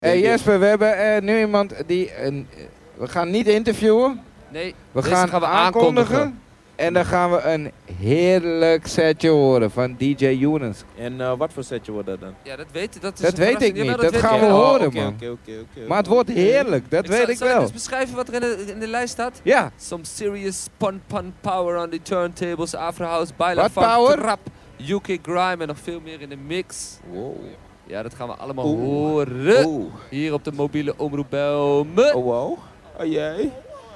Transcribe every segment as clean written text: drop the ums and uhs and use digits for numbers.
Jesper, we hebben nu iemand die... we gaan niet interviewen. Nee, we gaan aankondigen. En dan gaan we een heerlijk setje horen van DJ Younes. En wat voor setje wordt dat dan? Ja, dat weet ik niet. Jawel, dat gaan we horen, okay, man. Okay. Maar het wordt heerlijk, dat weet ik wel. Zal ik eens beschrijven wat er in de lijst staat? Ja. Some serious pun power on the turntables, Afro House, Baila Wat Funk, power? Trap, UK Grime en nog veel meer in de mix. Wow. Ja, dat gaan we allemaal horen. Hier op de mobiele omroep Belmen. Oh wow. Oh jee.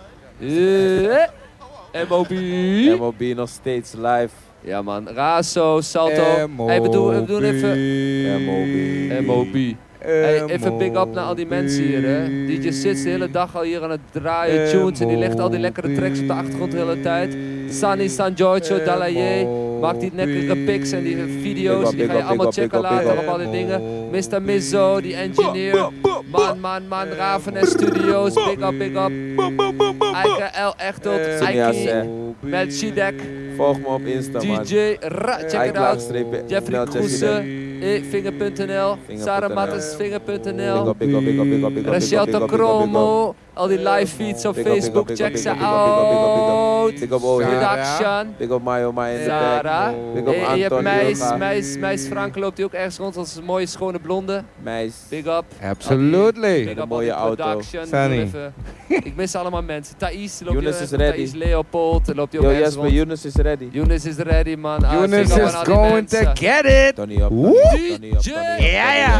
MOB. MOB nog steeds live. Ja man, Razo, Salto. Hey, we doen even... MOB. Hey, even big up naar al die mensen hier, hè. DJ zit de hele dag al hier aan het draaien tunes en die legt al die lekkere tracks op de achtergrond de hele tijd. Sunny, San Giorgio, Dalaye, maakt die lekkere pics en die video's, die ga je allemaal checken later op al die dingen. Mr. Mizzo, die engineer, man, Raven Studios, big up. Eike L. Echtot, Eike, met Shidek. Volg me op Insta, man. DJ Ra, check it out. Jeffrey Kroese, Vinger.nl, Sarah Mattes, Vinger.nl, Rachel Tokromo, al die live feeds op Facebook, check ze out. Production, big up Mayo, Sarah, big up en je hebt Anton, Meis Frank loopt die ook ergens rond als een mooie schone blonde. Meis. Big up. Absolutely. Big up mooie auto. Sunny. Ik mis allemaal mensen. Thais loopt Younes is ready. Thais Leopold loopt die ook ergens rond. Younes is ready. Younes is ready, man. Younes is going to get it. Tony up, DJ. Ja.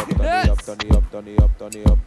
Tony up.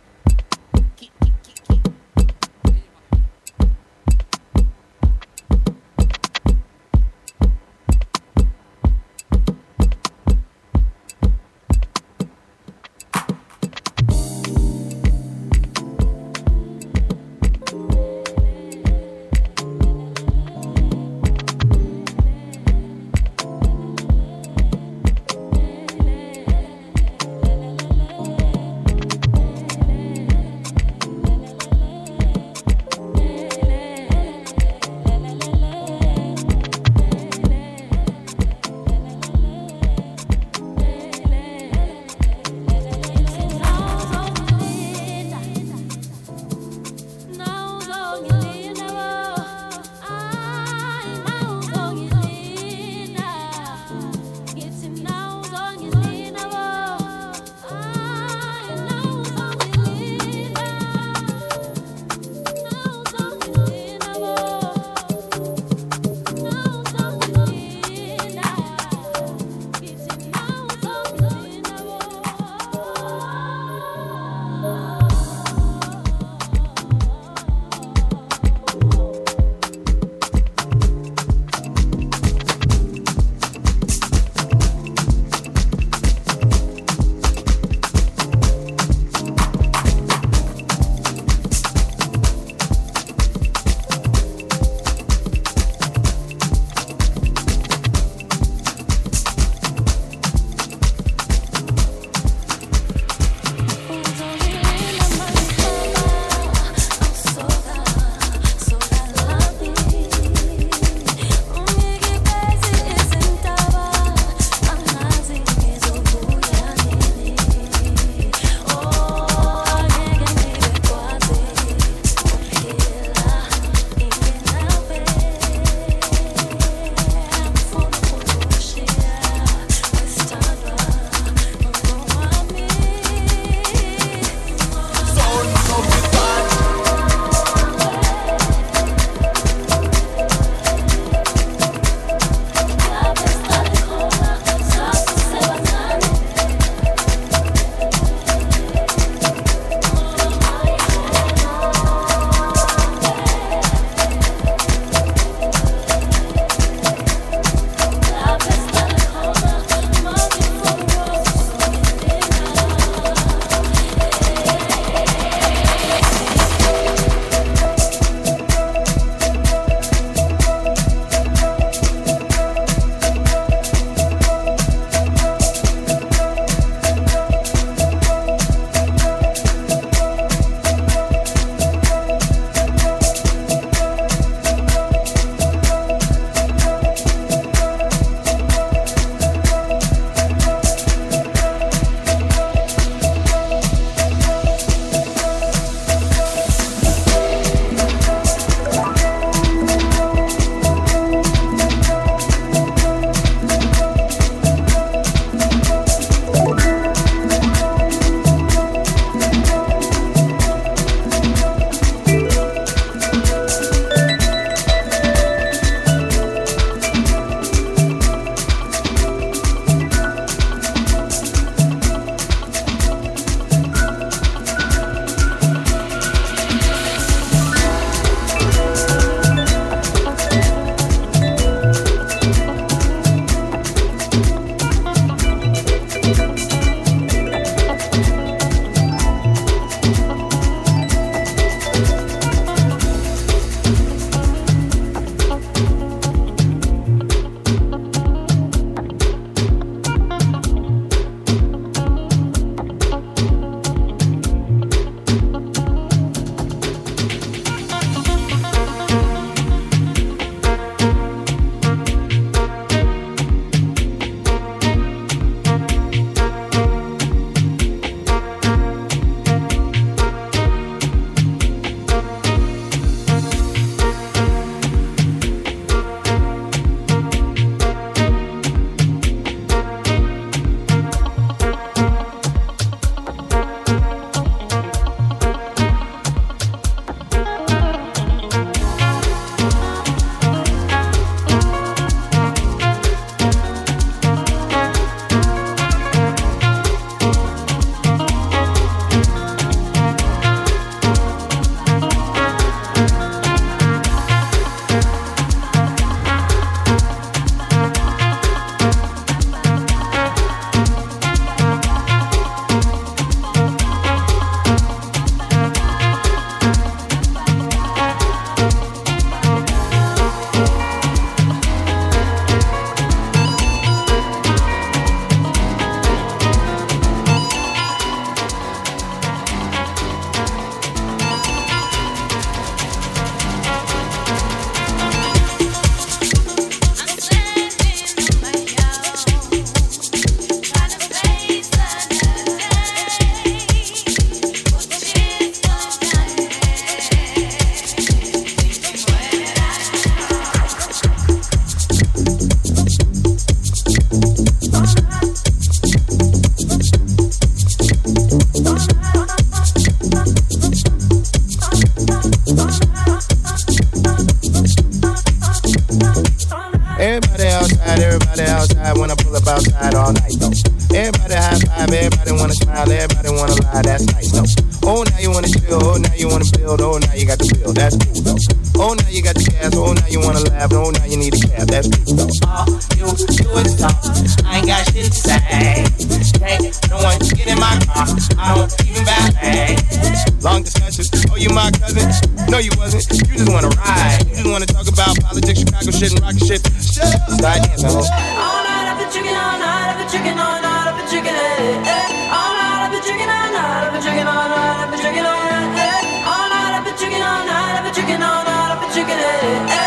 Oh, now you wanna chill, oh, now you wanna build, oh, now you got the bill, that's cool though. Oh, now you got the gas, oh, now you wanna laugh, oh, now you need a cab, that's cool though. All you do is talk, I ain't got shit to say. Hey, no one get in my car, I don't even back. Long discussions, oh, you my cousin? No, you wasn't, you just wanna ride. You just wanna talk about politics, Chicago shit, and rocket shit. Shut up, start dancing, ho. All night I've been drinking, all night I've been drinking, all night I've been drinking, all night I've been drinking, all night I've been drinking, all night I've been drinking, all night I've been drinking, all night I've been drinking, all night I've been drinking,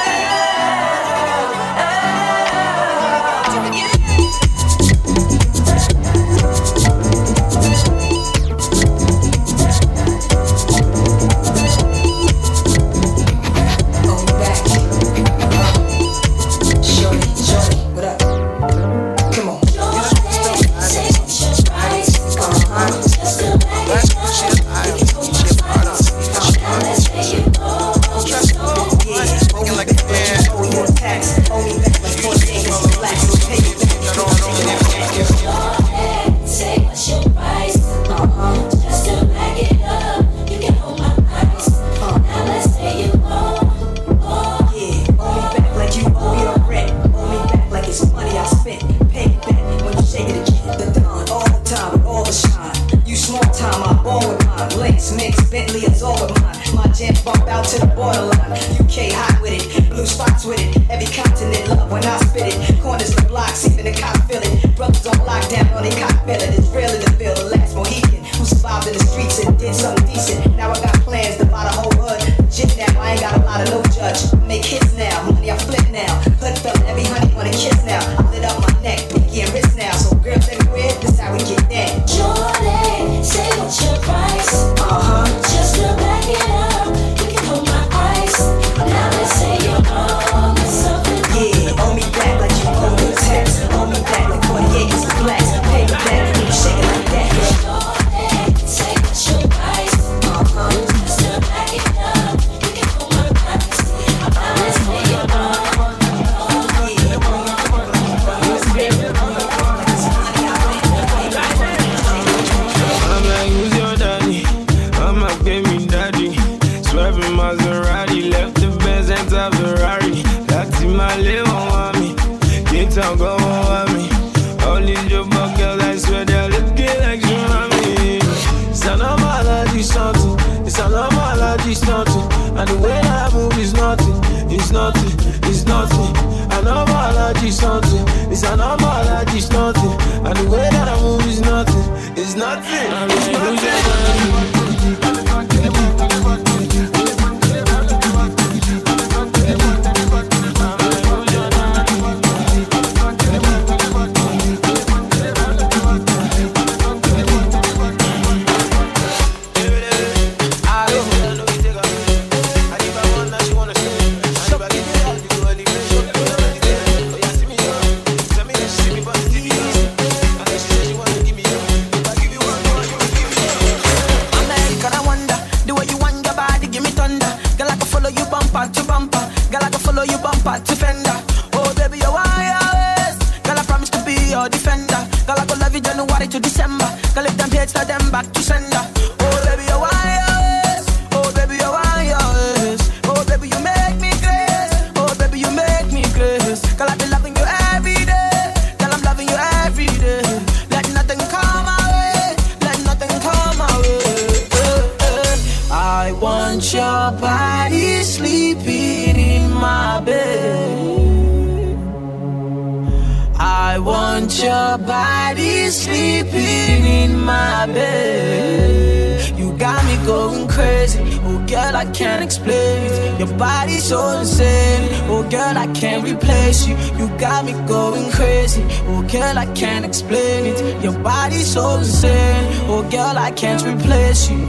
so insane. Oh girl, I can't replace you.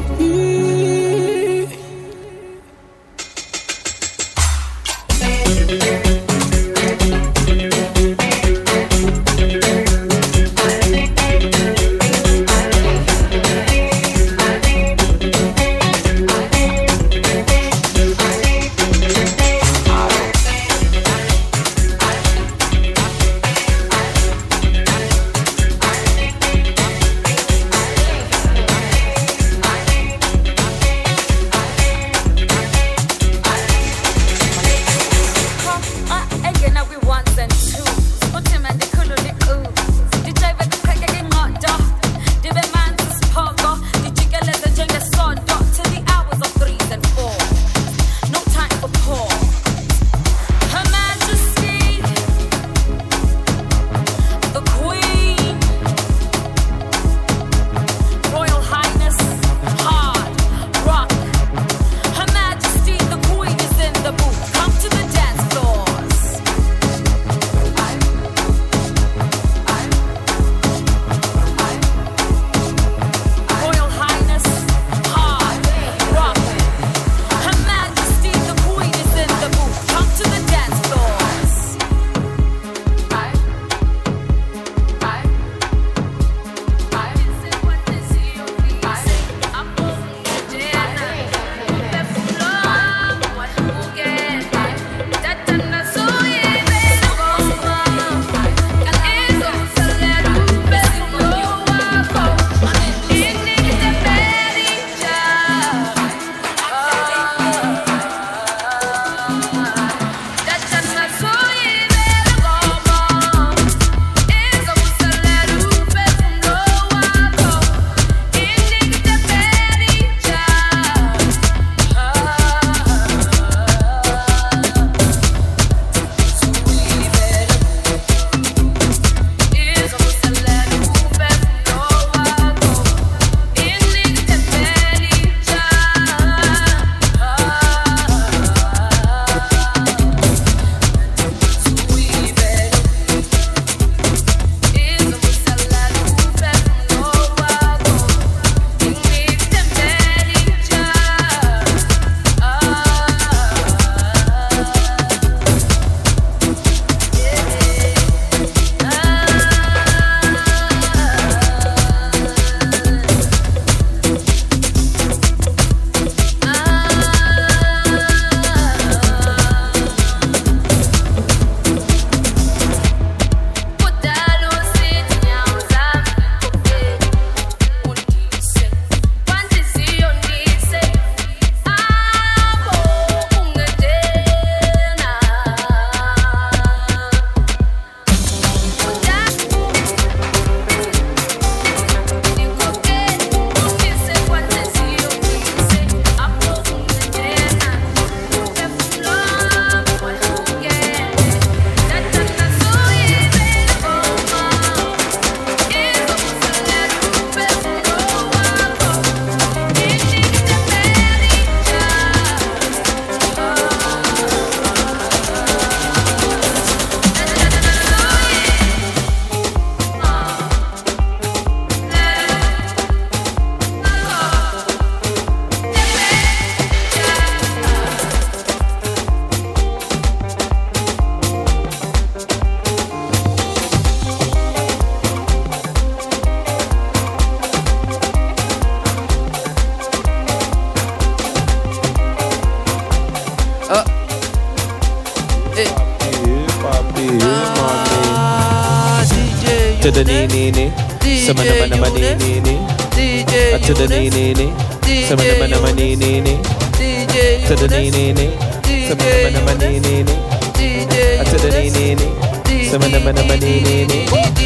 to the knee, knee, knee. Some of them are knee, knee, knee. To the knee, knee, knee. Some of them are knee, knee, knee. To the knee, knee, knee. Some of them are knee, knee, knee. To the knee, knee, knee. Some of them are knee, knee, knee.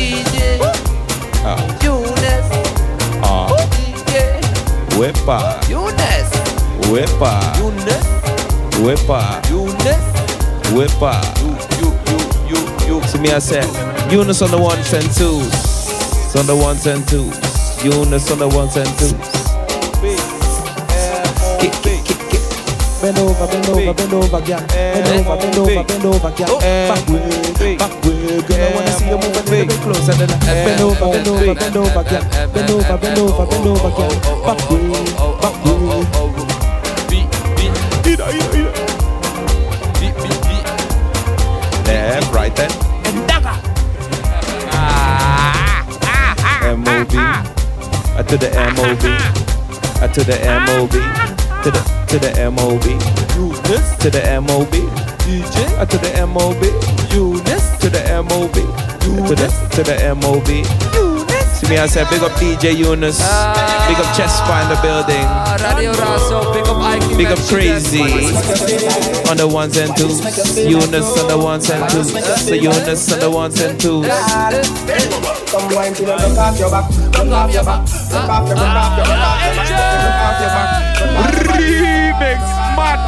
Whippa. Whippa. Whippa. Whippa. To me, I said, Eunice on the ones and twos. On the ones and twos. Eunice on the ones and twos. Bend over, bend over, bend over, girl. Bend over, bend over, bend over, girl. Backward, backward, girl. I wanna see you move a little bit closer than that. Bend over, bend over, bend over, girl. Bend over, bend over, bend over, girl. Backward, backward. Left, right, then. M.O.B. To the M.O.B. To the M.O.B. To the M.O.B. To the M.O.B. To the M.O.B. To the M.O.B. To the M.O.B. See me, I said, big up DJ Eunice. Big up Chespa in the building. Radio Razo, big up Ike. Big up Crazy. On the ones and twos. Eunice on the ones and twos. The Eunice on the ones and twos. Come wine till you look off your back. Look off your back. Look off your back. Look off your back. Remix. Mad.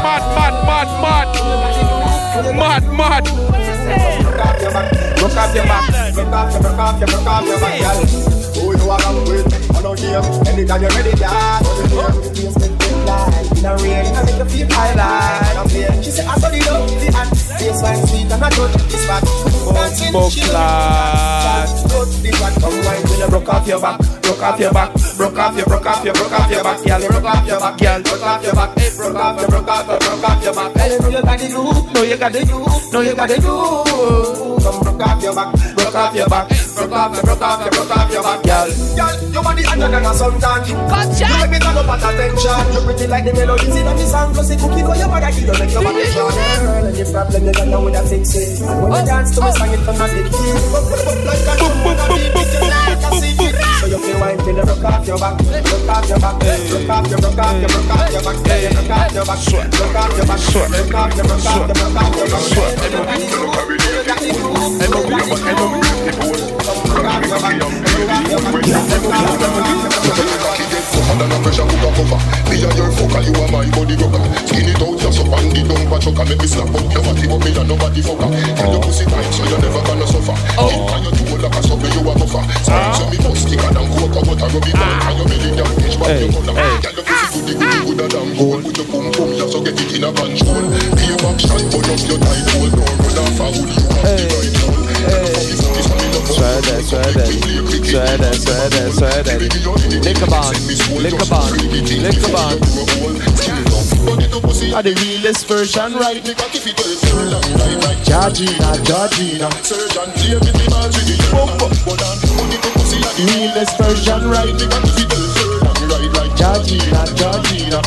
Look off your back. Look off your back, girl. Who you are come with? I know here. Anytime you're ready, yeah. In the rain, I make you feel highlight. I'm here. She said, I saw the love, the hand. This wine sweet and I don't this back. Come wine till you broke off your back. Broke off your back. Broke off your back, girl. Broke off your back, girl. Broke off your back. Broke off your back. I know you got the groove. No, you got the groove. No, you got the groove. Come broke off your back. Broke off your back. Broke off your back, girl. Girl, your body under than a suntan. You make me turn up at attention. You pretty like the melodies in the song. Plus the cookie for your body, you make your body shine. Girl, and the problem you got now with a fix it. When you dance to me, sing it from a big key. Like a so you feel wine till you broke off your back. Broke off your back. Broke off your back. Broke off your back. Broke off your back. Broke off your back. Broke off your under the pressure, cook a cover. Me and your fucker, you are my body rocker. Skin it out, just up and the dumper chucker. Make me slap up your body, but me and nobody fucker. Tell your pussy tight, so you're never gonna suffer. And you do like a sucker, you a buffer. So me bust thicker than coca, but I rub it down. And you belly down, bitch, but you color. Tell your pussy good a damn goal. With your pum pum, you so get it in a control. Pay back shot, burn up your tight hole. Don't run off a hood, you have the right hole. Swear that. Liquor band. Are the realest version, right? Georgina. Realest version, right? Georgina.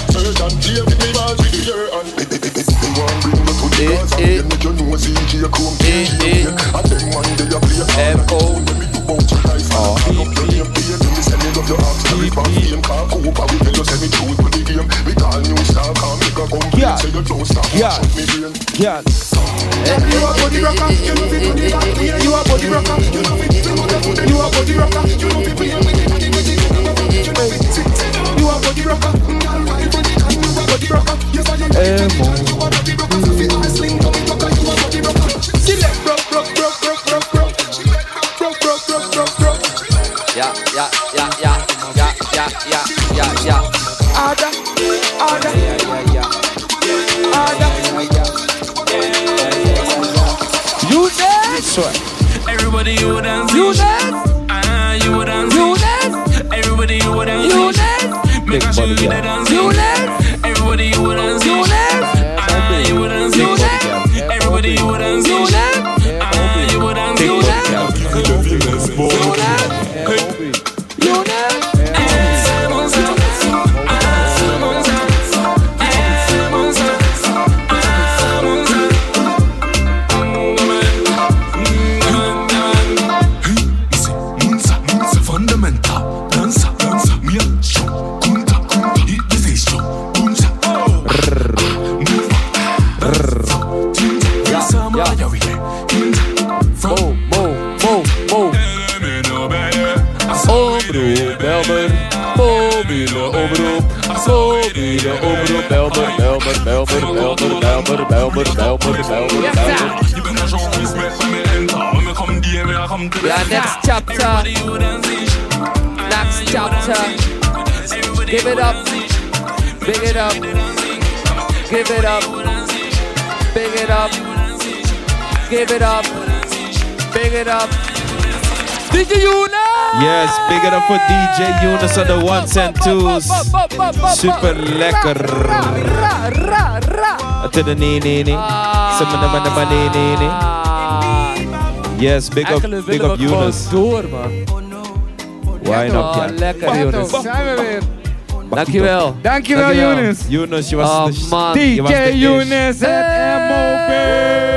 Yeah. You a body rocker, you know fi put it back. You a body rocker, you know fi. You a body rocker, you know fi. You a body rocker, girl, why you a body rocker? You say you a body rocker, fi ice sling, you a body rocker. Select rock. Yeah. Order. You dance. Everybody you dance. You dance. You dance. You dance. Everybody you dance. You dance. Make sure you get dance. You dance. Everybody you dance. You dance. You dance. You dance. Everybody you dance. You dance. You dance. You dance. You dance. De omroep Belmer. Ja, next chapter. Next chapter. Give it up. Big it up. Give it up. Big it up. Give it up. Big it up. DJ Younes! Yes, big it up for DJ Younes on the ones and twos. Super lekker. To the nee. Yes, big up Younes. Door, man. Why not? Oh, lekker Younes. Zijn we weer. Dankjewel. Dankjewel Younes. Younes, je was man. DJ Younes, het MOB.